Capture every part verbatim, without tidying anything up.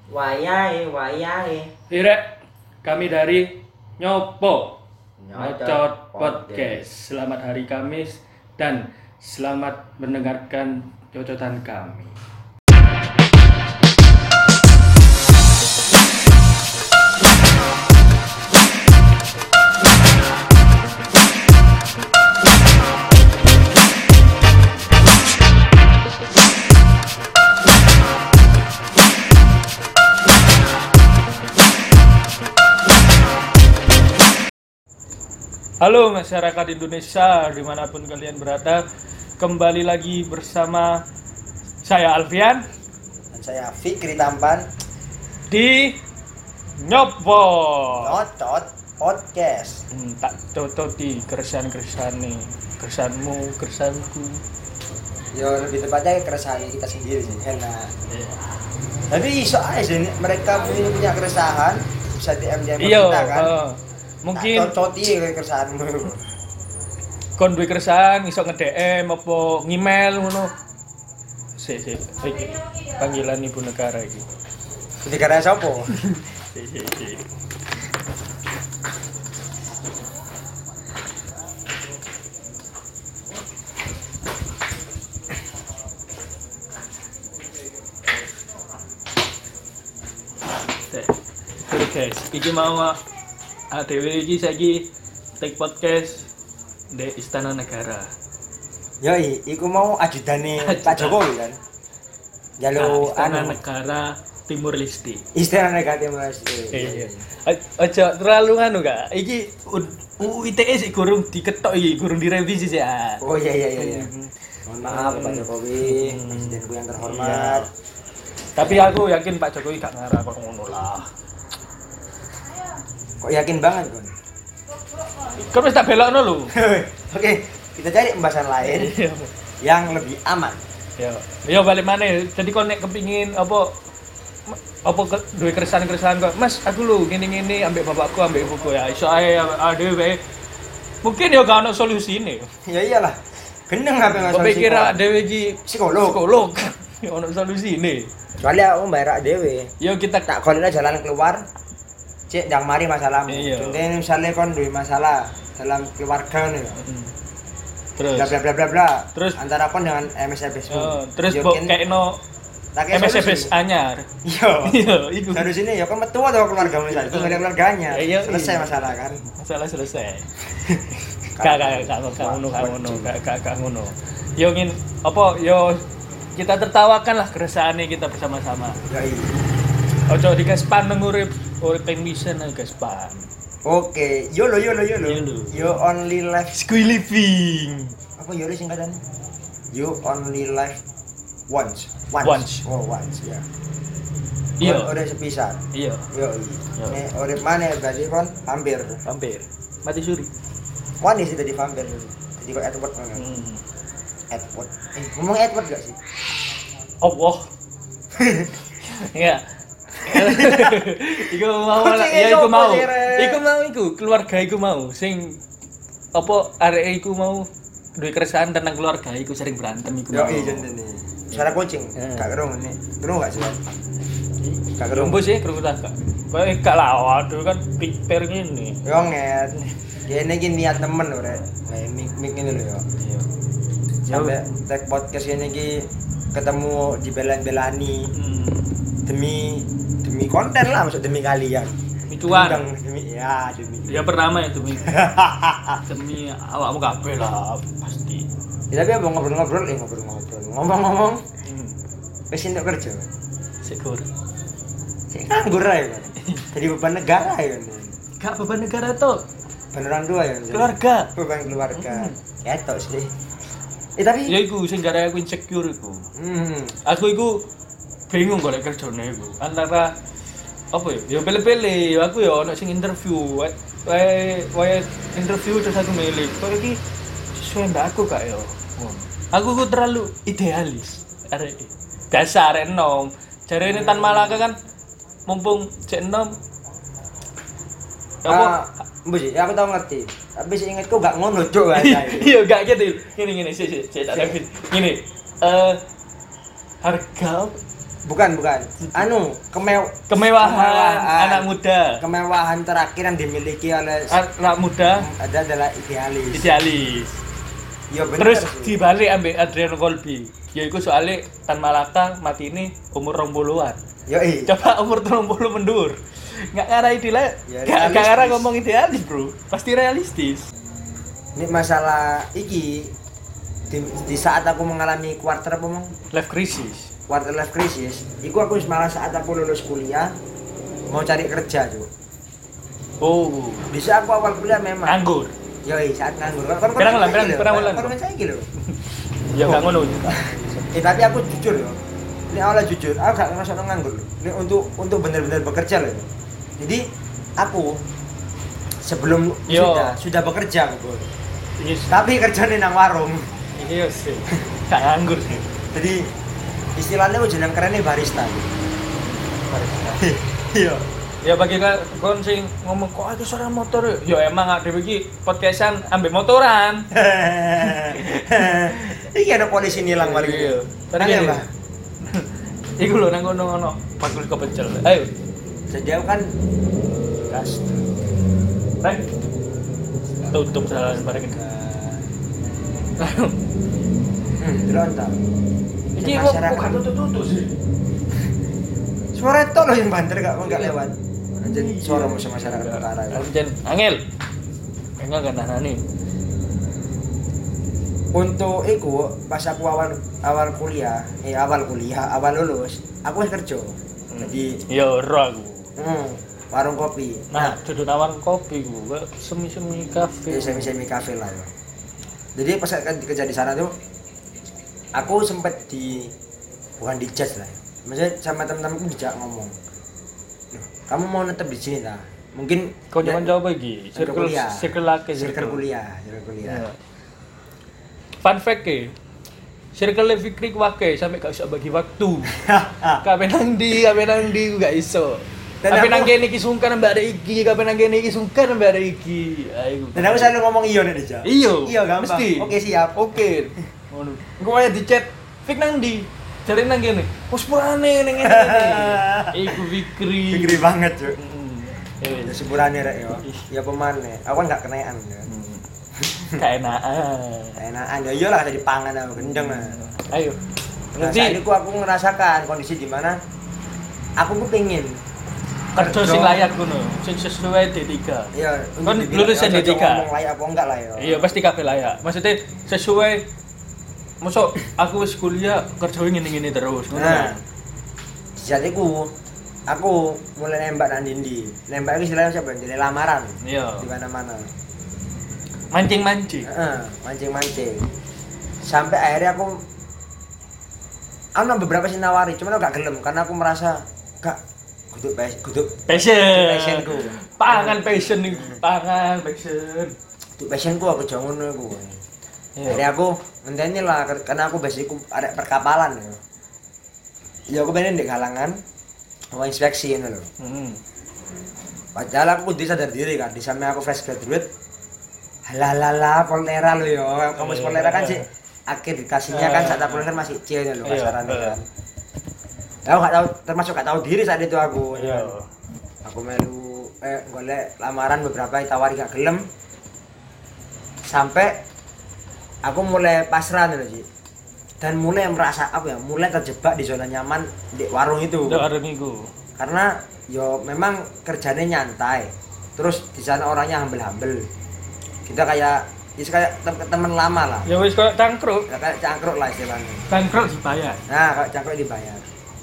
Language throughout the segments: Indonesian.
Wayahe, wayahe. Irek, kami dari Nyopo Nyocot Nyocot Podcast. Selamat hari Kamis dan selamat mendengarkan cocotan kami. Halo masyarakat Indonesia dimanapun kalian berada, kembali lagi bersama saya Alfian dan saya Fikri Tampan di Nyopo. Nyocot Podcast. Hmm, tak cocoti keresahan-keresahan nih, keresahanmu, keresahanku. Yo lebih tepatnya keresahan kita sendiri sih, enak. Tapi iso aja sih mereka punya, punya keresahan bisa D M D M Iya, kita kan. uh, mungkin tak cocoti keresahanmu. kon duwe keresahan iso nge-D M apa ngemail ngono. Sik sik iki panggilan ibu negara iki. Negara sapa? Sik sik sik. Oke guys, iki mau A D W iki saiki take podcast di Istana Negara. Yoi, iku mau ajudane Pak Jokowi kan. Jalur Istana anu Negara Timur Leste. Istana Negara Mas. Iya. Aja terlalu anu Kak. Iki U I T E sih gurung diketok iki, gurung direvisi sih. Oh iya iya iya iya. Mohon maaf Pak Jokowi, presidenku yang terhormat. Tapi aku yakin Pak Jokowi gak ngarah kok ngono lah. Kok yakin banget, Gon? Kan wis tak belokno lho. Oke, kita cari pembahasan lain yang lebih aman. Yo, yo balik maneh. Jadi kok nek kepingin apa apa ke, duwe keresahan-keresahan kok, Mas, aku lho ngene-ngene ambek bapakku, ambek ibuku ya. Iso ae adewe. Mungkin yo gak ono solusine. Ya iyalah. Gendeng apa masalah Kok pikir adewe iki psikolog. Psikolog. Yo ono solusine. Kecuali aku bayar dhewe. Yo kita Tak golekna jalan keluar. Cek ndang mari masalahmu. Iya. Contohnya misalnya kon duwe masalah dalam keluarga nih. Hmm. Terus Bla bla bla bla bla. Terus antara kon dengan M S F S. oh, terus mbok kekno M S F S anyar. Iya. Iya, iku. Harus ini ya kon metu atau keluargamu misalnya. Itu ada keluarganya. Iya, iya. Selesai masalah kan. Masalah selesai. Gak gak gak gak ngono gak ngono gak gak gak ngono. Yo ngin apa yo kita tertawakan lah keresahane kita bersama-sama. Ya iya. Ojo digaspan nang urip urip pengmisen ae gaspan. Oke, YOLO YOLO YOLO. YOLO. You only live. Squee living. Apa YOLO singkatannya? You only live once. Once. Once. Oh, once ya. Iya. Udah sepisan. Iya, Yo Yo. iya. Nek urip maneh berarti kon hampir. hampir. Mati suri. Wani sih tadi vampir. Jadi kok Edward kan. Hmm. Edward. Eh, ngomong Edward gak sih? Allah. Iya. Iku mau lah, Kucing ya itu iku mau. apa sih, Re? Iku mau iku, keluarga iku mau sing apa arek iku mau duwe keresahan tentang keluarga iku sering berantem iku. Yo mau. iya jentene. Suara kucing. Eh. Gak kerung ini. Kerung gak sih? Gak kerung. Rumbu sih kerungu tak. Kayak gak lah, waduh kan piper ngene. Yo nget. Kene iki niat temen lho, Rek. Kayak mik-mik ngene lho yo. Iya. Sampai tag podcast ini ki ketemu dibelan-belani Hmm. demi demi konten lah, maksud demi kalian. Micuan. Undang demi ya demi. Ya pertama ya demi demi awakmu kabeh lah pasti. Ya, tapi apa ngobrol-ngobrol, eh ngobrol-ngobrol. Ngomong-ngomong, Hmm. wis entuk kerja. Syukur. Sik nganggur ae kan. Jadi beban negara ya kan. Gak beban negara tuh. Beban orang tua ya. Kan? Keluarga. Beban keluarga. Hmm. Ketok sih. Eh tapi Ya iku sing gara aku insecure iku. hmm. Aku iku bingung golek kerjane iku. Antara apa ya? Ya pilih-pilih. Aku ya ono sing interview. Wae wae interview terus aku milih. Kok iki sesuai mbak aku gak ya? Ngono. Aku ku terlalu idealis. Arek dasar arek enom. Jarene Tan Malaka kan mumpung cek enom. Ah, mbus ya aku tau ngerti. Tapi sing ingetku gak ngono, Cuk. Iya, gak gitu. Gini gini sih sih, sih tak David. Gini. Eh harga Bukan, bukan. Anu, kemew Kemewahan, kemewahan anak muda. Kemewahan terakhir yang dimiliki oleh Anak muda ada adalah idealis. idealis. Ya bener. Terus sih. dibalik ambil Adriano Colby. Yaiku soalnya Tan Malaka mati ini umur rong puluhan. Yo i. Coba umur rong puluh mendur. Nggak ngarah idealis, Ya, nggak nggak realistis. ngarah ngomong idealis bro. Pasti realistis. Ini masalah iki di, di saat aku mengalami quarter apa mau? Life crisis. Quarter life crisis, iku aku malah saat aku lulus kuliah mau cari kerja tuh. Oh, Bisa aku awal kuliah memang. nganggur. Yoi, saat nganggur. Kan Pirang bulan, pirang- pirang bulan. Kan saya gitu. Ya nggak ngono. Eh tapi aku jujur loh. Ini awalnya jujur, aku gak ngerasa nganggur loh. Ini untuk untuk benar-benar bekerja loh. Jadi aku sebelum Yo. sudah sudah bekerja aku. Yes. Tapi kerjanya nang warung. Iya sih. Nggak nganggur sih. Jadi istilahnya aku jeneng kerennya barista. Iya. Ya bagi kan kon sing ngomong kok ada suara motor. Ya emang ada bagi podcastan ambil motoran. Iki ada polisi nilang balik. Iya. Tadi Nang ya, gini. Mbak? Iku lho nang ngono ngono. Pakul kepecel. Ayo. Jadi aku kan gas. Rek. Tutup jalan bareng ini. Hmm, delon ta. Iki kok bukan tutup-tutup sih. Suara itu loh yang banter gak enggak lewat. Anjir suara musuh masyarakat utara. Ya. Anjen angel. Enggak kan nani. Untuk iku pas aku awal awal kuliah, eh awal kuliah, awal lulus, aku wis kerja. Jadi Ya ora aku. hmm, warung kopi. Nah, duduk nawang kopi gua, semi-semi kafe. Ya semi-semi kafe lah ya. Jadi pas kan kerja di sana tuh aku sempet di bukan di judge lah. Maksudnya sama teman-temanku dijak ngomong. "Loh, kamu mau netep di sini ta?" Mungkin Kau ya, jangan jawab lagi. circle Circle kuliah. circle laki circle kuliah, circle kuliah. Ya. Fun fact e. Circle Fikri wake sampai gak bisa bagi waktu. Kabeh nang ndi, kabeh nang ndi gak iso. Dan Kabeh aku- nang kene iki sungkan mbak ada iki, kabeh nang kene iki sungkan mbak ada iki. Ayo. Dan aku selalu ngomong iya nek dijak. Iyo. Iya gampang. Mesti. Oke siap. Oke. Ngono. Engko wae di chat Fik nang ndi? Jare nang kene. Wes purane ning ngene iki. Iku Fikri. Fikri banget, Cuk. Hmm. Ya Eh, sepurane rek yo. Ya pemane. Aku kan gak kenean ya. keenaan. Enakan ya iyalah tadi pangan aku gendeng lah. Ayo. Nah, Nanti saat itu aku ngerasakan kondisi di mana aku tuh pengen kerja sing layak ngono, sing sesuai D tiga. Iya, Kan untuk dibilang, lulusan ya, D tiga. ngomong layak apa enggak lah ya. Iya, pasti kabeh layak. Maksudnya sesuai Mosok aku wis kuliah kerja ngene-ngene terus, ngono. Nah, kan? di saat itu aku mulai nembak nang dindi. Nembak itu istilahnya siapa? Jadi lamaran Iya. di mana-mana. Mancing-mancing. Heeh, mancing-mancing. Sampai akhirnya aku aku nang beberapa sih nawari, cuman aku gak gelem karena aku merasa gak kudu pes, kudu Passion. passionku. Pangan passion nih, pangan passion. Kudu passionku aku jangan ngono iku. Iya. Akhirnya aku ngenteni lah karena aku basicku ada perkapalan ya. Ya aku pengen di kalangan mau inspeksi ini loh. Heeh. Padahal aku kudu sadar diri kan, di samping aku fresh graduate. Halalala Polnera lo yo. Kampus Polnera kan sih akreditasinya kan saat aku kan masih C loh Iya, kasarannya iya. kan. Aku gak tahu termasuk gak tahu diri saat itu aku. Iya. Aku melu eh golek lamaran beberapa ditawari gak gelem. Sampai aku mulai pasrah loh Ji. Dan mulai merasa apa ya, mulai terjebak di zona nyaman di warung itu. Udah ada minggu. Karena yo memang kerjanya nyantai. Terus di sana orangnya humble-humble. Kita kayak ya kayak tem- teman lama lah. Ya wis koyo cangkruk. Ya, kayak cangkruk lah istilahnya. Cangkruk dibayar. Nah, kalau cangkruk dibayar.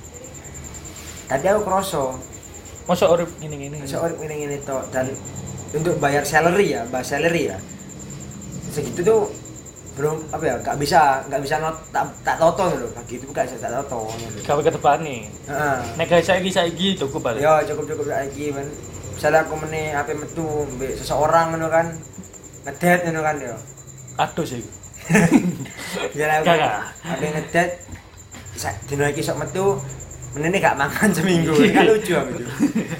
Tadi aku kroso, Mosok urip ngene-ngene. seorang ini ini toh dan untuk bayar salary ya, bayar salary ya. Segitu tuh belum apa ya, nggak bisa nggak bisa not, tak, tak toto loh, begitu nggak bisa tak toto. Gawe ketepane. Heeh. Nek gawe saiki saiki cukup balik. Ya cukup cukup lagi men. Misalnya aku meni H P metu mbek seseorang ngono kan, ngedet ngono kan ya. Aduh sih. Jalan Gak, gak. H P ngedet sak dino iki sok metu menene gak makan seminggu. Kan lucu aku itu.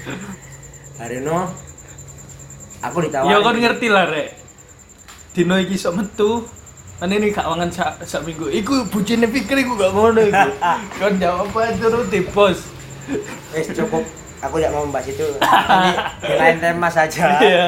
Harino aku ditawari. Ya kon ngerti lah rek. Dino iki sok metu Ane ini gak mangan sak sak minggu. Iku bujine pikir iku gak ngono iku. Kon jawab apa turuti bos. Wes cukup. Aku tidak mau membahas itu. Ini di lain tema saja. Iya.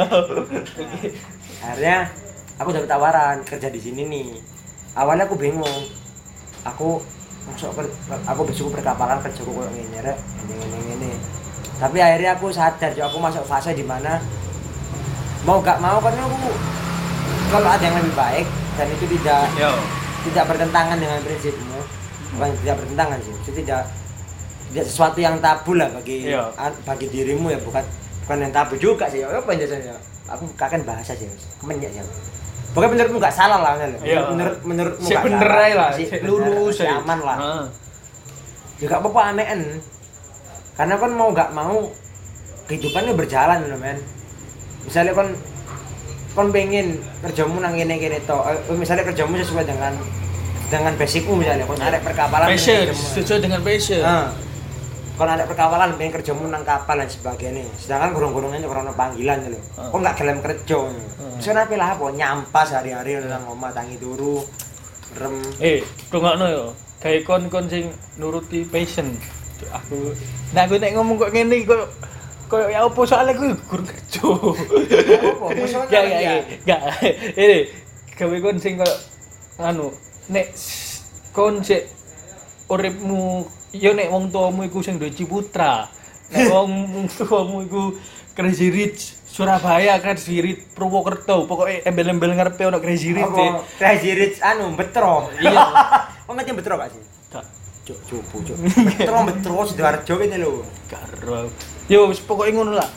Akhirnya aku dapat tawaran kerja di sini nih. Awalnya aku bingung. Aku masuk ke aku besok perkapalan kerja kok ngene rek, ngene ngene. Tapi akhirnya aku sadar, jo, aku masuk fase di mana mau gak mau kan aku kalau ada yang lebih baik dan itu tidak Yo. tidak bertentangan dengan prinsipmu. Bukan tidak bertentangan sih, itu tidak tidak sesuatu yang tabu lah bagi Iya. bagi dirimu ya, bukan bukan yang tabu juga sih. Apa penjelasannya? Aku kakek bahasa sih, kemenyek ya. Pokoknya menurutmu nggak salah lah, kan? Iya. Menurut menurutmu Sik nggak bener salah. ae lah, Sik sik bener, lurus sik ae. aman lah. Heeh. Ya nggak apa-apa anehan. Karena kan mau nggak mau kehidupannya berjalan loh men. Misalnya kan kon pengen kerjamu nang kene kene to, eh, misalnya kerjamu sesuai dengan dengan basicmu misalnya, kon arek perkapalan. Passion, kerjamu. sesuai dengan passion. Nah, kon arek perkapalan pengen kerjamu nang kapal dan sebagainya. Sedangkan gurung-gurungnya karena panggilan lho. Ah. Kok nggak gelem kerja. Ah. Wis ora lah apa nyampas hari-hari nang omah tangi turu. Rem. Eh, rungokno yo. Kayak kon-kon sing nuruti passion. Aku nah aku nek ngomong kok ngene kok kok ya opo soalnya aku guru kerja. Apa? Maksudnya Gak ya? gak gak. Ini gawe kon sing kok anu nek s- kon sik uripmu yo nek wong tuamu iku sing duwe Ciputra. Nek wong tuamu iku Crazy Rich Surabaya, Crazy Rich Purwokerto, pokoknya embel-embel ngarepe ono Crazy Rich. Apa? Crazy Rich anu betro. Iya. Kok ngerti betro gak sih? Gak Cuk, cupu, cuk. Betro, betro Sidoarjo kene lho. karo. Yo wis pokoke ngono lah.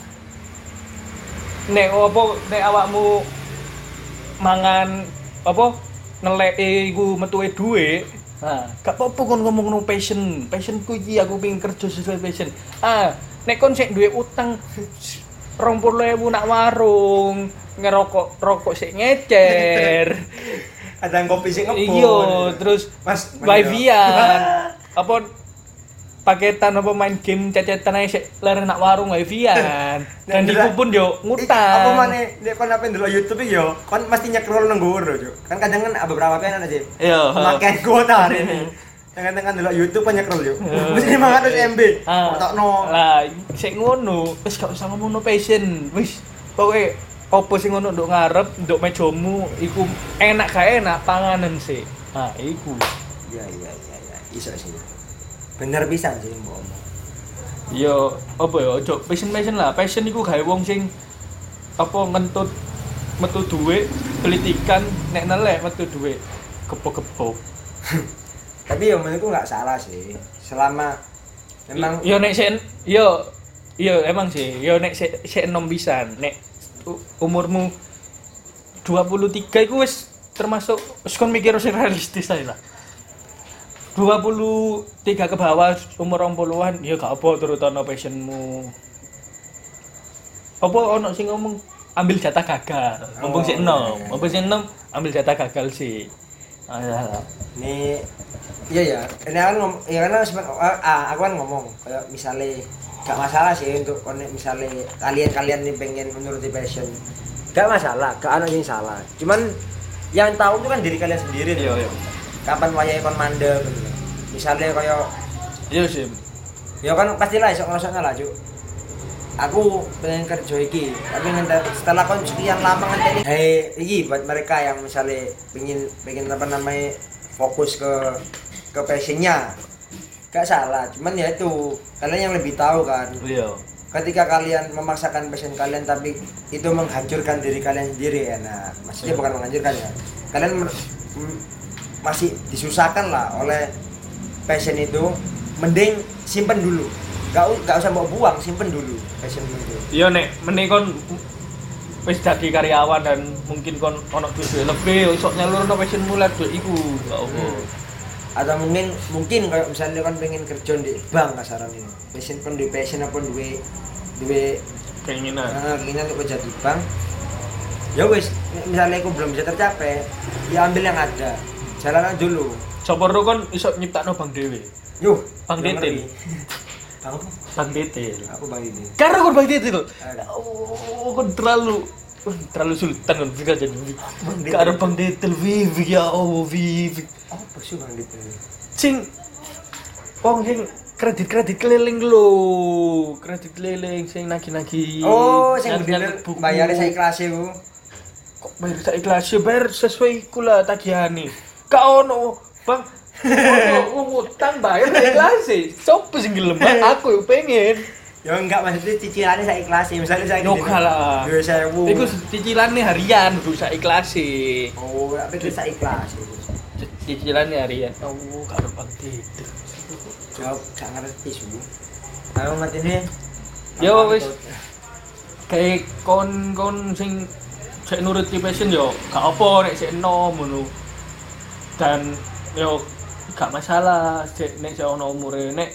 Nek apa nek awakmu mangan apa neleke iku metuwe dhuwit. Nah, gak apa-apa kon ngomong no passion. Passionku iki aku pengen kerja sesuai passion. Ah, nek kon sik duwe utang rong puluh ewu nak warung, ngerokok rokok sik ngecer. Ada kopi sing ngebon. Iya, terus Mas, wifi-an. Apa paketan apa main game cecetan ae sik leren nak warung wifi-an. Dan Nah, iku pun yo Apa ngutang. maneh nek kon ape ndelok YouTube iki yo, kon mesti nyekrol nang nggowo Cuk. Kan kadang kan beberapa kan ada sih. Iya. Pemakaian kuota hari ini. Kadang-kadang ndelok YouTube kan nyekrol yo. Mesti lima ratus M B. Ah, Potokno. lah, sik ngono, wis gak usah ngomong no passion. Wis pokoke opo sing ngono nduk ngarep, nduk mejomu iku enak gak enak panganan sih. Ah, iku. Iya iya iya iya. Iso sih. Bener pisan sih mbok omong. Yo apa ya ojo passion-passion lah. Passion iku gawe wong sing apa ngentut metu dhuwit, pelitikan nek nelek metu dhuwit. Gepok-gepok. Tapi yo menurutku enggak salah sih. Selama memang yo nek sik yo yo emang sih, yo nek sik sik enom pisan. Nek u- umurmu dua puluh tiga iku wis termasuk wis kon mikir sing realistis ae lah. dua puluh tiga ke bawah umur rong puluhan ya gak apa turut ono passionmu. Apa ono sing ngomong ambil jatah gagal. Mumpung sik enom, iya, iya. mumpung sik enom ambil jatah gagal sih. Alah. ini iya ya. Ini kan ngom- ya karena seben- ah, aku kan ngomong kayak misalnya gak masalah sih untuk kon misalnya kalian-kalian nih pengen menuruti passion. Gak masalah, gak ada yang salah. Cuman yang tahu itu kan diri kalian sendiri. Iya, tuh. iya. Kapan wayahe kon mandeg gitu. Misalnya kayak Iya sih. ya kan pastilah esok ngerasanya lah Cuk. Aku pengen kerja iki, tapi ngente- setelah kon sekian lama ngenteni hei iki buat mereka yang misalnya pengen pengen apa namanya fokus ke ke passionnya. Gak salah, cuman ya itu kalian yang lebih tahu kan. Iya. Ketika kalian memaksakan passion kalian tapi itu menghancurkan diri kalian sendiri ya. Nah, maksudnya bukan menghancurkan ya. Kalian mer- m- masih disusahkan lah oleh passion itu, mending simpen dulu. Gak, u- gak usah bawa buang, simpen dulu passion itu. Iya nek meneh kon wis dadi karyawan dan mungkin kon ono duit lebih iso nyalurno passionmu lek duit iku. Gak apa. Atau mungkin mungkin kayak misalnya kan pengen kerja di bank kasaran ini. Passion kan di passion apa duwe duwe Keinginan. nah, keinginan untuk kerja di bank. Ya wis, misalnya aku belum bisa tercapai, ya ambil yang ada. Jalanan dulu. Sopor kon iso nyiptakno bank dhewe. Yuh, Bang belum Titin. ngerti. Bang apa? Bank detail. Aku Bang ini. Karena kon bank detail. Ada. Oh, kon terlalu Uh, terlalu sultan kan bisa jadi gak ada bang detail Vivi ya oh Vivi apa sih bang detail sing wong sing kredit-kredit keliling lho kredit keliling sing nagi-nagi oh sing nagi-nagi bener bayar saya kelas Bu kok bayar saya kelas bayar sesuai kula tagihane gak ono bang ono ngutang bayar saya kelas sopo sing gelem aku yo pengen. Ya enggak maksudnya cicilannya saya ikhlasin misalnya saya no kalah dua sewu itu cicilannya harian kudu saya ikhlasin oh tapi itu saya ikhlasin cicilannya harian oh karo bang tidur jawab gak ngerti su ayo ngerti nih yo wis kayak kon kon sing sik nuruti passion yo gak apa nek sik enom ngono dan yo gak masalah sik nek sik ono umure nek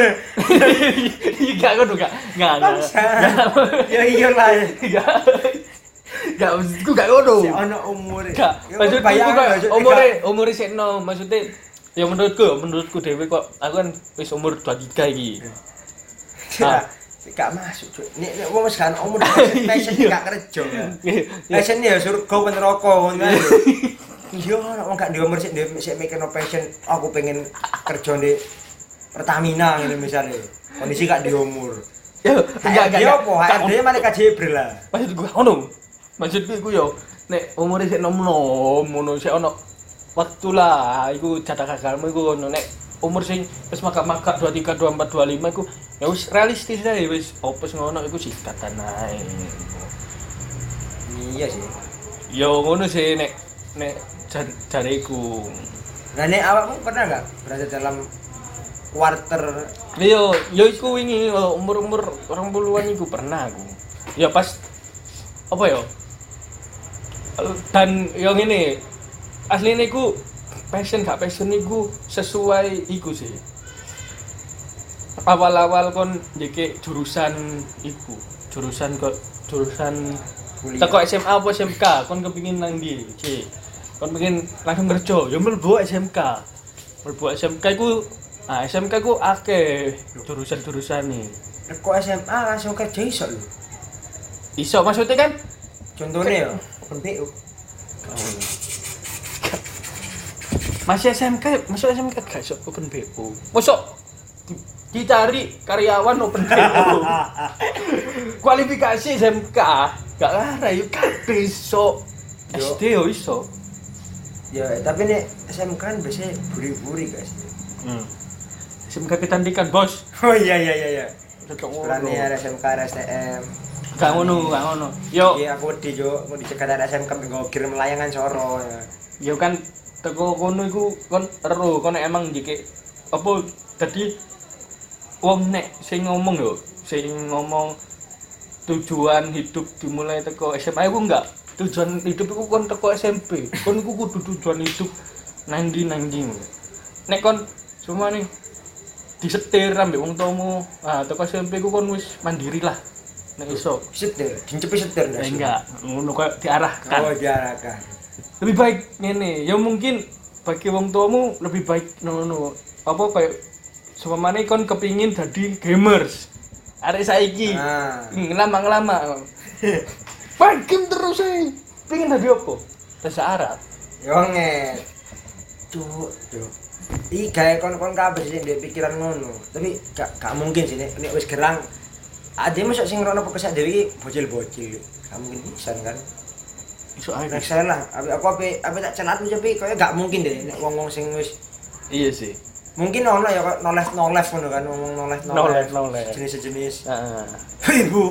gak ngono gak gak ya iya lah gak gak maksudku gak ngono sik ono umure gak maksudku kok umure umure sik enom maksudnya ya menurutku menurutku dhewe kok aku kan wis umur dua puluh tiga iki nah gak masuk cuk nek nek wong wis kan umur passion gak kerja passion ya surga apa neraka ngono iya nek gak di umur sik sik mikir no passion aku pengen kerja di Pertamina ngene misalnya kondisi gak di umur ya enggak enggak apa hade malah kajebrel lah maksudku ngono maksudku iku yo nek umure sik nom-nom ngono sik ono waktu lah iku jatah gagalmu iku ngono nek umur sing wis makak-makak dua puluh tiga, dua puluh empat, dua puluh lima iku ya wis realistis ae wis opes ngono iku sikatan ae iya sih yo ngono sih nek nek jariku. Nah nek awakmu pernah enggak berada dalam quarter yo yo iku wingi umur-umur orang puluhan iku pernah aku ya pas apa yo dan yang ini aslinya iku passion gak passion iku sesuai iku sih awal-awal kon jeke jurusan iku jurusan kok jurusan teko S M A apa S M K kon kepengin nang ndi cik kon pengen langsung kerja ya mlebu S M K mlebu S M K iku ah S M K ku akeh jurusan-jurusane kok S M A langsung kerja iso lho iso maksudnya kan contohnya ya open B U masih S M K masuk S M K gak iso open B U masuk dicari karyawan open B U kualifikasi S M K gak lara yuk kabeh iso S D yo iso ya tapi nek S M K kan biasanya buri-buri guys hmm. S M K kecantikan bos oh iya iya iya iya berani ada S M K ada S T M gak ngono gak ngono yo iya aku wedi yo mau dicegat ada S M K nggo kirim layangan soro ya yo kan teko kono iku kon ero kon emang jike apa dadi wong nek sing ngomong yo sing ngomong tujuan hidup dimulai teko S M A iku enggak tujuan hidup iku kon teko S M P kon iku kudu tujuan hidup nang ndi nang ndi nek kon cuma nih disetir ambek wong tuamu ah teko S M P ku kon wis mandiri lah nek iso setir dincepi setir ndak enggak ngono koyo diarahkan oh diarahkan lebih baik ngene ya mungkin bagi wong tuamu lebih baik ngono apa kayak seumpamane kon kepingin dadi gamers arek saiki ah ngelama-ngelama main game terus ae pengin dadi apa bahasa Arab yo nget cuk cuk iki gawe kon-kon kabeh sing ndek pikiran ngono tapi gak gak mungkin sih nek nek wis gerang ade mosok sing ngrono pokok sak dhewe iki bocil-bocil gak mungkin pisan kan iso ae nek salah apa aku apa apa tak celat tapi koyo gak mungkin deh nek wong-wong sing wis iya sih mungkin ono ya kok noleh noleh ngono kan ngomong noleh noleh noleh jenis-jenis heeh ibu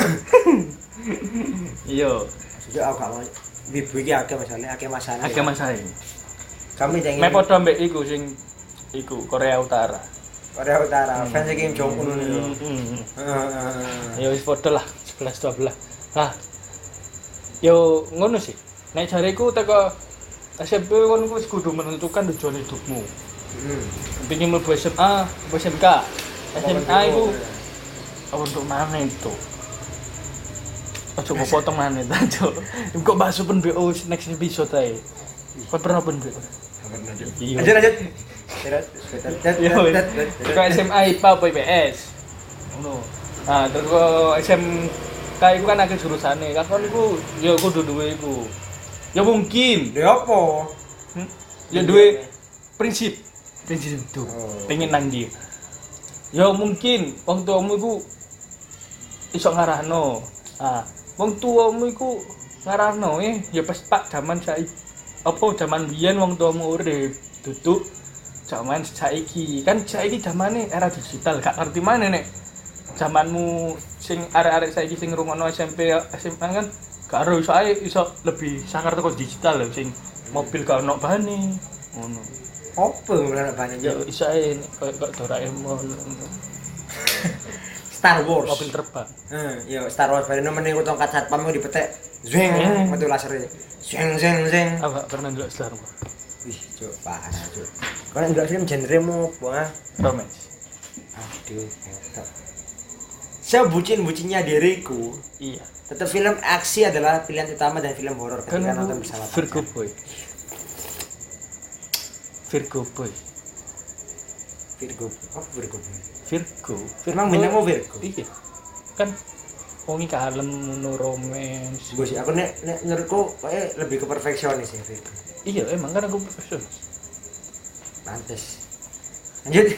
iya sudah aku gak mau ibu iki akeh masalah akeh masalah akeh masalah kami pengen me padha mbek iku sing iku Korea Utara Korea Utara fans Kim Jong Un lho heeh ya wis padha lah sebelas dua belas lah yo ngono sih nek jareku teko S M P kon wis kudu menentukan tujuan hidupmu heeh pengin mlebu S M A apa S M K S M A iku apa untuk mana itu ojo mau potong mana itu kok bahas open B O next episode ae kau pernah open B O iya lanjut lanjut ke S M A I P A apa I P S ngono nah terus ke S M K kayak iku kan akeh jurusane. Kakon iku ya kudu duwe iku. Ya mungkin, Lha opo? hmm? ya duwe prinsip. Prinsip itu. Oh. Pengen nang ndi. Ya mungkin wong tuamu iku iso ngarahno. Ah, wong tuamu iku ngarahno eh ya pas pak zaman saiki. Apa zaman biyen wong tuamu urip, duduk zaman saiki. Kan saiki zamane era digital, gak ngerti mana nek zamanmu sing arek-arek saiki sing ngrungokno S M P S M A kan gak ero iso ae iso lebih sangar teko digital lho sing mobil gak ono bane ngono. Opo ora banyak Ya yo. iso ae nek koyo kok Doraemon Star Wars. mobil terbang. Heeh, yo Star Wars bareng meneh ku tongkat satpam ku dipetek. Zeng, Eh. metu laser. Zeng zeng zeng. Aku gak pernah ndelok Star Wars. Wih, cuk, parah, cuk. Kau ndelok film genre-mu apa? ah? Romance. Aduh, ketok. Sebucin-bucinnya diriku, Iya. tetap film aksi adalah pilihan utama dan film horor Kan ketika aku nonton bersama Virgo pacar. boy. Virgo boy. Virgo. Oh, Virgo. Virgo. Emang bintangmu Virgo? Iya. Kan wong iki kalem ngono romance. Gue sih, aku nek nek menurutku kayak lebih ke perfeksionis ya Virgo. Iya, emang kan aku profesional. Pantes. Lanjut.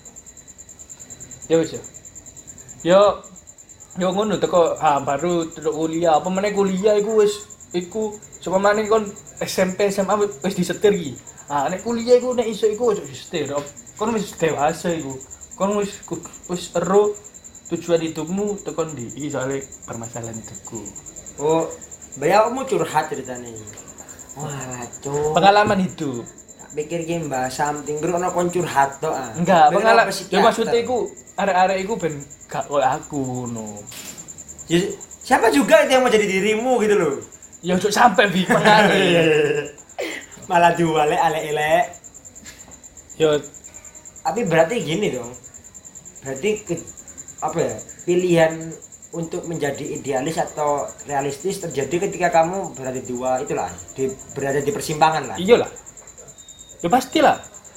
Ya wis ya. Yo yo ngono teko ah baru teko kuliah. Apa meneh kuliah iku wis iku sapa maneh kon S M P S M A wis disetir iki. Ah nek kuliah iku nek iso iku ojo disetir. Kon wis dewasa iku. Kon wis wis ero tujuan hidupmu tekan di iki soalnya permasalahan hidupku. Oh, bayar kamu curhat ceritanya. Wah, cuk. Pengalaman hidup. Tak pikir ki mbah something bro ono kon curhat tok ah. Enggak, Ben pengalaman. apa Ya psikiater? maksudnya iku arek-arek iku ben gak koyo aku no. Ya, siapa juga itu yang mau jadi dirimu gitu loh. Ya ojo sampe bi pengaruh. Malah diwale alek-elek. Yo Tapi berarti gini dong. Berarti ke, apa ya? Pilihan untuk menjadi idealis atau realistis terjadi ketika kamu berada di dua itulah, di, berada di persimpangan lah. iya lah. Ya pastilah.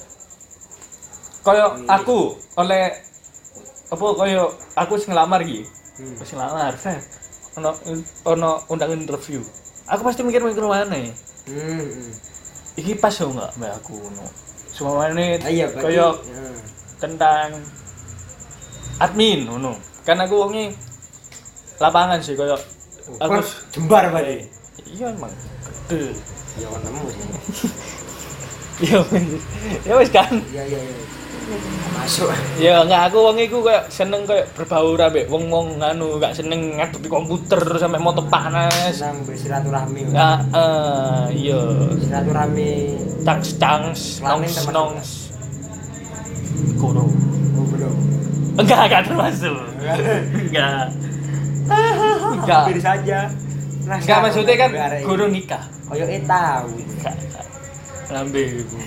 Kayak Iya. aku oleh apa kayak aku sing ngelamar iki. Hmm. Wis ngelamar, Fer. Ono ono undang interview. Aku pasti mikir-mikir mana. Hmm. hmm. Iki pas yo enggak mbak aku ngono. Semuanya Ah, iya, berarti, kayak hmm. tentang admin ngono. Kan aku wonge lapangan sih kayak aku Kon jembar berarti. iya emang gede. Ya kon nemu sih. Iya ya wis kan. Iya iya iya. Masuk. Ya enggak aku wong iku kayak seneng kayak berbaur ambek wong-wong nganu gak seneng ngadepi komputer sampai moto panas. Senang bersilaturahmi. Nah, eh iya. Silaturahmi. Tangs tangs Kelamin nongs termasuk nongs. Kuro. Oh, belum. Enggak enggak termasuk. Enggak. Enggak. Hampir saja. Nah, Enggak maksudnya kan arek iki. guru nikah. Koyo e tahu. Enggak. enggak. Lambe iku.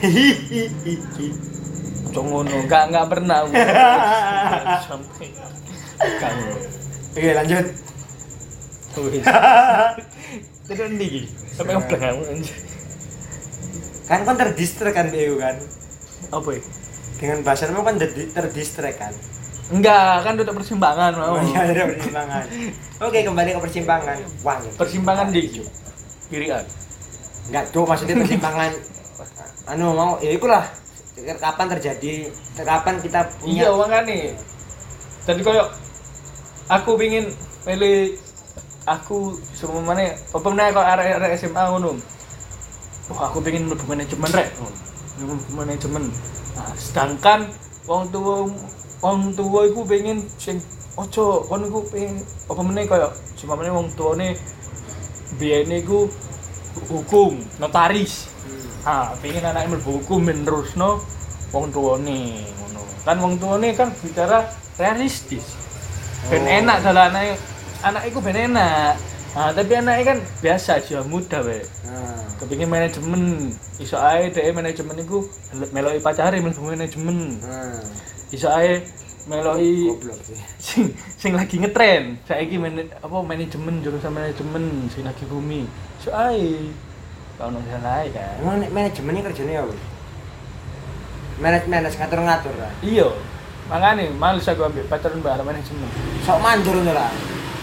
Cok ngono, enggak enggak pernah. aku. Sampai kan. Oke, lanjut. Wis. Terus ndi? Sampai ngebleng aku. Kan kon terdistrek kan Beu kan. Apa ya? Dengan bahasanmu kan terdi- terdistrek kan. Enggak, kan udah persimpangan mau. Oh iya, ada persimpangan. Oke, kembali ke persimpangan. Wah, Persimpangan di kirian. enggak tuh maksudnya persimpangan anu mau ya ikulah kapan terjadi kapan kita Iya, punya makane. Tadi koyo aku pingin milih aku semamane apa meneh kok arek-arek S M A ngono. Wah, aku pengen mlebu manajemen rek. Oh, mlebu manajemen. Nah, sedangkan wong tuwa wong tuwa iku pengen sing ojo kon iku pengen apa meneh koyo semamane wong tuane biyen iku hukum, notaris. Ah, pengen anaknya mlebu hukum ben terusno wong tuane ngono. Kan wong tuane kan bicara realistis. Ben Oh. enak dalah anake. Anak iku ben enak. Ah, tapi anaknya kan biasa aja muda wae. nah, Kepingin manajemen, iso ae dhek manajemen iku meloki pacare mlebu manajemen. nah, Iso ae meloki goblok sih. sing sing lagi ngetren. Saiki man, apa manajemen jurusan manajemen sing lagi bumi. Iso ae. Kau nang salah ae kan. Emang nek manajemen ini kerjanya apa? Manaj-manaj ngatur-ngatur lah. Iya. Makane males aku ambil pacaran bareng manajemen. Sok mandur ngono lah.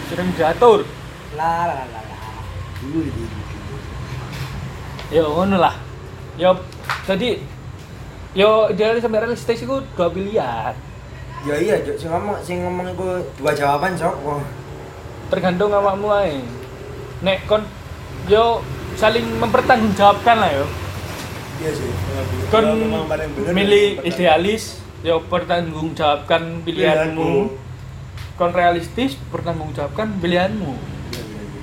sering diatur. La la la la. Dulu dulu. Ya ngono lah. Ya tadi yo idealis sampai realistis iku dua pilihan. Ya iya, Jok, sing ngomong sing ngomong iku dua jawaban, Sok. Oh. Tergantung awakmu ae. Nek kon yo saling mempertanggungjawabkan lah yo. Iya sih. Kon Memang paling bener milih yang idealis, yo pertanggungjawabkan pilihanmu. Kon realistis, pertanggungjawabkan pilihanmu. Iya iya iya.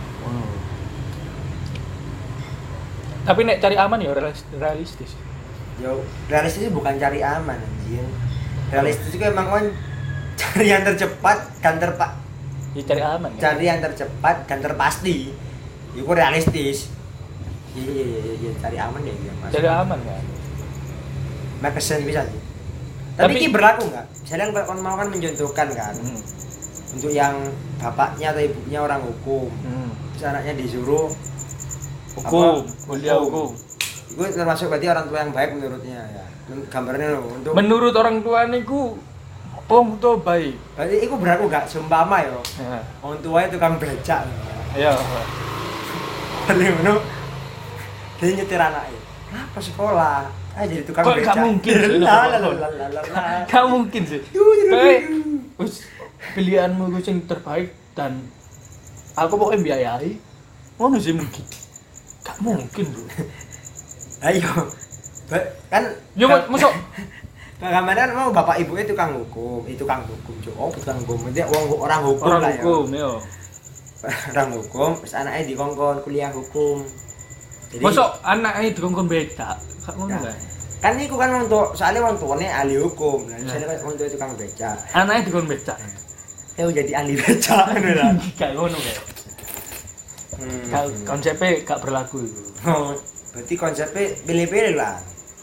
Tapi nek cari aman ya realis- realistis. Yo, realistis bukan cari aman anjing. Realistis itu emang kan cari yang tercepat dan terpa Ya cari aman kan. cari yang tercepat dan terpasti. Itu realistis. Iya iya iya iya cari aman ya iya Mas. Cari aman kan. Make sense bisa sih. Tapi, Tapi- ini berlaku nggak? Misalnya kalau mau kan mencontohkan kan Hmm. untuk yang bapaknya atau ibunya orang hukum, Hmm. terus anaknya disuruh Hukum, apa? kuliah hukum. Itu termasuk berarti orang tua yang baik menurutnya ya. Gambarnya loh untuk Menurut orang tua niku wong tua baik. berarti itu berlaku nggak seumpama ya. Ya. Orang tuanya tukang becak. Ya. Paling ngono. Dia nyetir anaknya. Apa sekolah? Ah jadi tukang Kok becak. nggak mungkin sih? La la la la la la. Gak mungkin sih. Kayak wis pilihanmu gue yang terbaik dan aku pokoknya biayai. Ngono sih mungkin. Gak mungkin, Bro. Ayo. Ba- Kan Yo kan- masuk Kagak kan mau bapak ibunya tukang hukum, itu tukang hukum, Cuk. Oh, tukang hukum. Dia orang orang hukum orang lah hukum yo. ya. Orang hukum, terus anaknya dikongkon kuliah hukum. Jadi Masuk anaknya dikongkon beda. Gak ngono Nah, kan. kan itu kan untuk soalnya orang tuanya ahli hukum. Nah, Nah. misalnya kan orang tua tukang becak. Anaknya dikongkon beda. Ya jadi ahli becak ngono lah. Gak ngono kan. Hmm. Gak konsepnya gak berlaku itu. Oh, berarti konsepnya pilih-pilih lah.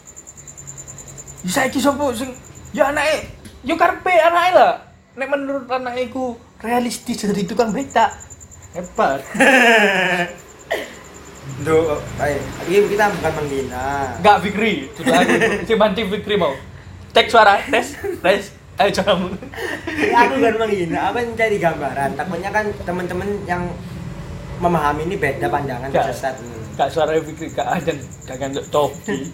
Saiki sapa sing ya anake yo karepe anake lah. Nek menurut anake iku realistis jadi tukang becak. Hebat. Duh, baik. Ini kita bukan menghina. Enggak Fikri, sudah aku si banting Fikri mau. Cek suara, tes, tes. Ayo coba. Ini aku bukan menghina, apa mencari gambaran. Takutnya kan teman-teman yang memahami ini beda pandangan Gak. sesat. Kak suara Fikri kak ajan gak gandok topi.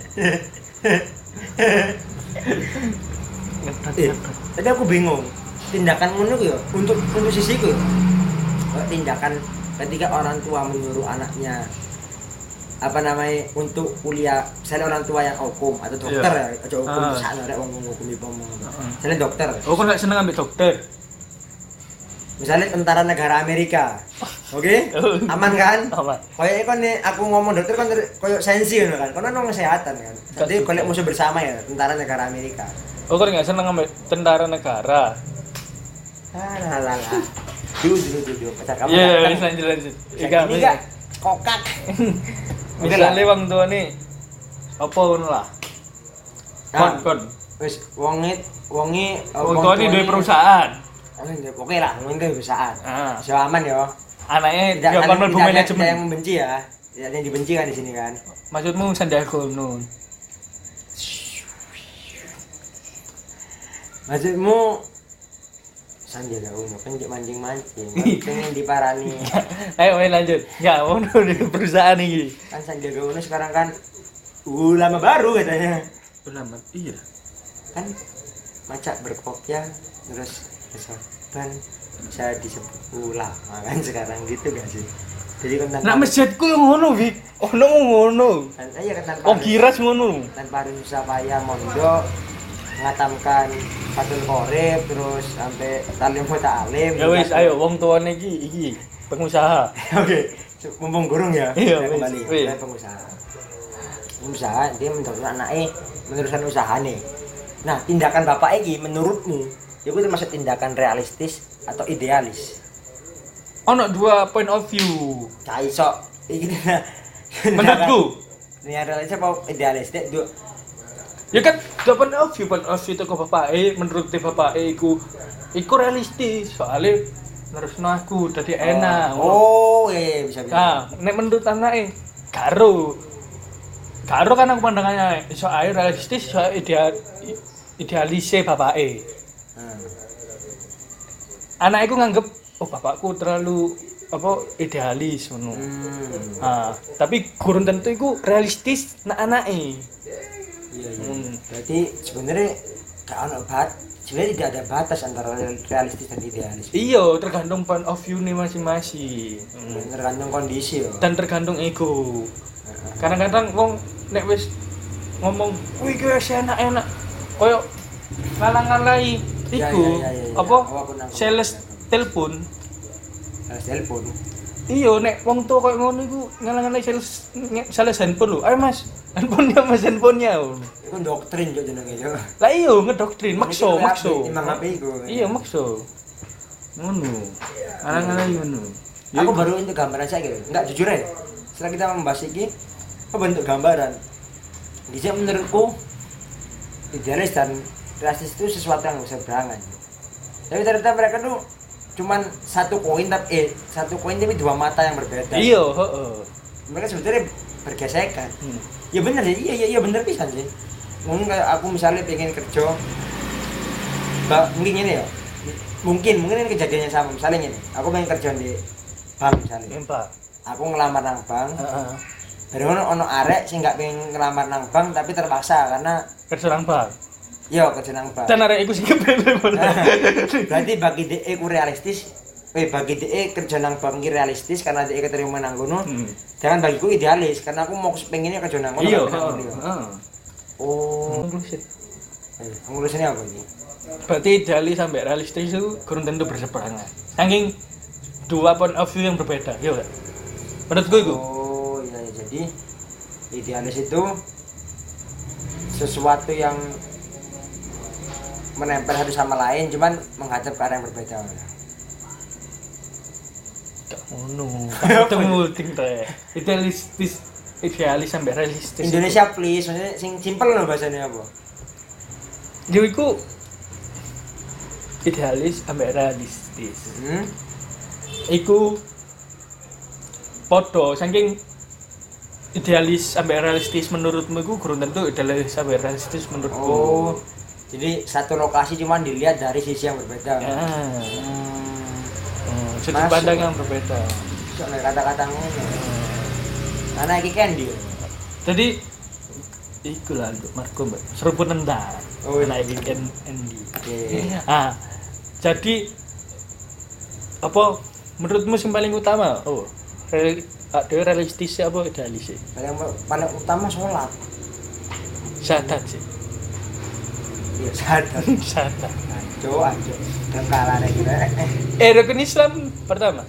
Eh, tadi aku bingung. Tindakan ngono ku ya untuk untuk sisiku. Ya. Tindakan ketika orang tua menyuruh anaknya apa namanya untuk kuliah, misalnya orang tua yang hukum atau dokter Iya. ya, aja hukum Ah. sana rek wong hukum iki ngomong. Heeh. Misalnya dokter, Oh, kok gak seneng ambil dokter? misalnya tentara negara Amerika. Oke? Aman kan? Aman. Kayak kan nih aku ngomong dokter kan koyo sensi ngono kan. Kono nang kesehatan kan. Jadi Gak golek suka. musuh bersama ya tentara negara Amerika. Oh, kok gak seneng ambil tentara negara? Ah lah lah lah. Dulu dulu dulu pacar kamu. Iya, kan- lanjut lanjut lanjut. Ini Ika, enggak kokak. Oke lah. misalnya wong tua nih apa ngono lah. Kon Nah, kon. wis wonge wonge Wong tua nih duwe perusahaan. Oke lah, wong duwe perusahaan. Ah, So aman ya. anaknya Tidak dia ada- kon mlebu tidak ada- tidak yang manajemen. membenci ya. Tidak ada yang dibenci kan di sini kan. Maksudmu Sandiaga Uno. Maksudmu Sandiaga Uno kan cek mancing-mancing, pengen diparani. Ayo ayo lanjut. Ya, ngono di perusahaan iki. Kan Sandiaga Uno sekarang kan ulama baru katanya. Ulama. Iya. Kan macak berkopiah terus kesopan bisa disebut ulama kan sekarang gitu gak sih? Jadi kan tanpa Nak masjidku yang ngono, Wik. Ono ngono. kan iya kan tanpa Oh, kiras ngono. tanpa harus susah payah mondok ngatamkan Fathul Qorib terus sampai talim ta'alim. Ya wis, ayo wong tuane iki iki pengusaha. Oke, mumpung gurung ya. Iya, kita wis, kembali. wis. Kita pengusaha. Pengusaha dia meneruskan anaknya meneruskan usahanya. Nah, tindakan bapak iki menurutmu itu termasuk tindakan realistis atau idealis? Ono dua point of view. Cai sok. Iki Menurutku, ini realistis apa idealis? Dek, du- ya kan dua point of view, point of view itu ke bapak eh menurut bapak eh iku iku realistis soalnya nerusno aku dadi enak. Oh, iya, iya, bisa bisa. Nah, nek menurut anake karo karo kan aku pandangannya iso ae realistis iso ideal idealise bapake. Hmm. Anak iku nganggep oh bapakku terlalu apa idealis ngono. Hmm. Ah, tapi kurang tentu iku realistis nak anake. Iya iya. Hmm. Berarti sebenarnya gak ono bat, sebenarnya tidak ada batas antara realistis dan idealis. Iya, tergantung point of view nih masing-masing. Hmm. Tergantung kondisi yo. Dan tergantung ego. Kadang-kadang wong nek wis ngomong, "Wih, iki wis enak-enak." Koyo ngalang-ngalai Ya, iku ya, ya, ya, ya. apa? Oh, aku nangkep. Sales telepon. Sales telepon. Iya, nek wong tuwa koyo ngono iku ngalang-ngalai sales nge- sales handphone lho. Ayo Mas, handphonenya Mas handphonenya. Iku doktrin yo jenenge yo. Lah iya ngedoktrin, makso, makso. Imam H P iku. Iya, makso. Ngono. Ngalang-ngalai ngono. Ya Aku iku. baru itu gambaran saya gitu. Enggak jujur ya. Setelah kita membahas ini, apa bentuk gambaran? Bisa menurutku idealis dan realistis itu sesuatu yang bisa berangan. Tapi ternyata mereka tuh cuman satu koin tapi eh satu koin tapi dua mata yang berbeda. Iya, heeh. Mereka sebetulnya bergesekan. Hmm. Ya benar sih, iya iya iya benar bisa sih. Mungkin kayak aku misalnya pengen kerja, mbak mungkin ini ya, mungkin mungkin ini kejadiannya sama misalnya ini, aku pengen kerja di bank misalnya, Empat. aku ngelamar nang bank, Heeh. dari mana ono arek sih nggak pengen ngelamar nang bank tapi terpaksa karena Kerja nang bank. yo kerja nang bank. Dan arek iku sing kepele. Berarti bagi dia ku realistis, eh bagi dia kerja nang bank ini realistis karena dia keterima nang kono. Hmm. Jangan bagiku idealis karena aku mau pengennya kerja nang kono. Iya, nggak nang kono. heeh. Oh, Konklusi. eh, konklusinya apa ini? Berarti idealis sampai realistis itu kurang tentu berseberangan. Saking dua point of view yang berbeda, iya enggak? Menurutku itu. Oh, iya ya. Jadi idealis itu sesuatu yang menempel satu sama lain cuman menghadap ke arah yang berbeda. Gak ngono. Ketemu ting teh. Idealistis, idealis sampai realistis. Indonesia please, maksudnya sing simple loh bahasanya apa? Yo iku idealis sampai realistis. Hmm? Iku podo saking idealis sampai realistis menurutmu iku kurang tentu idealis sampai realistis menurutku. Oh, jadi satu lokasi cuman dilihat dari sisi yang berbeda. Ya. Hmm. Hmm, sudut Masuk. pandang yang berbeda. Soalnya kata-kata ngono. Karena iki Candy. Jadi iku lah untuk Marco Mbak. Seruput nendang. Oh, Anak weekend Andy. Oke. Ah, jadi apa menurutmu yang paling utama? Oh, real, ada realistis apa idealis sih? Paling paling utama sholat. Syahadat sih. Iya, sadar. Syahadat. Ajo, ajo. Dan kalah nih kita. Eh, rukun Islam pertama.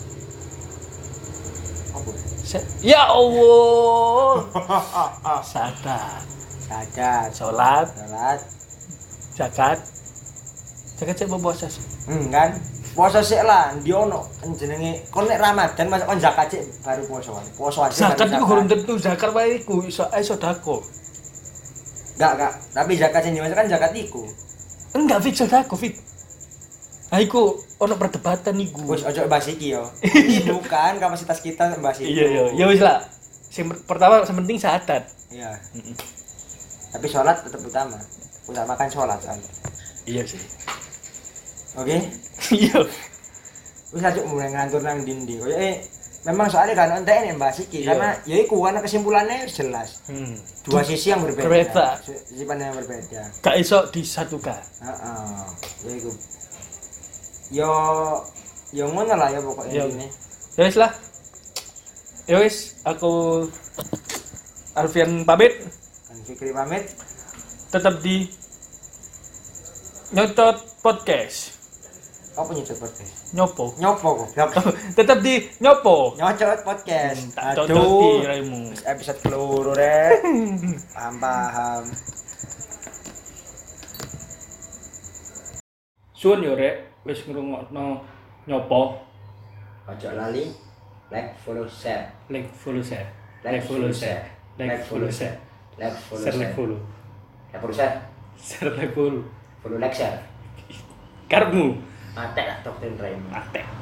Apa? Sa- Ya Allah. Syahadat. Sadar. Salat, Sholat. zakat. Zakat sih apa puasa sih? Hmm, kan? Puasa sih lah, ndi ono jenenge kon nek Ramadan masuk kon zakat sih baru puasa. Puasa aja. Zakat baru itu kurang tentu zakat wae iku iso ae sedekah. Enggak, enggak. Tapi zakat yang dimasukkan zakat iku. Enggak fix sedekah, fit. Ah iku ono perdebatan iku. Wis ojo bahas iki yo. Ini bukan kapasitas kita bahas itu. Iya iya, ya wis lah. Sing per- pertama yang penting syahadat. Iya. Mm-mm. Tapi sholat tetap utama. Utamakan sholat soalnya. Iya sih. Oke. Iya. Wis aja mulai ngantur nang dindi. Koyo eh memang soalnya kan entek nek bahas iki Iya. karena ya iku karena kesimpulannya wis jelas. Hmm. Dua sisi yang berbeda. Berbeda. Sisi pandang yang berbeda. Gak iso disatukan. Heeh. Ya iku. Yo yo ngono lah ya pokoknya Yo. ini. Ya wis lah. Ya wis, aku Alfian pamit. Kan Fikri pamit. Tetap di Nyocot Podcast. Apa nyocot podcast? Nyopo. Nyopo kok. Tetap di Nyopo. Nyocot podcast. Tak cocoti raimu. Wis episode keloro rek. Paham paham. Suwun yo rek, wis ngrungokno Nyopo. Ojo lali like, follow, share. Like follow share. Like, follow, share. Like follow share. Like, follow, Share like share. follow. Like, follow, share. Share like follow. Follow, like, share. Karepmu. Mate lah doktrin Raymond. Atek.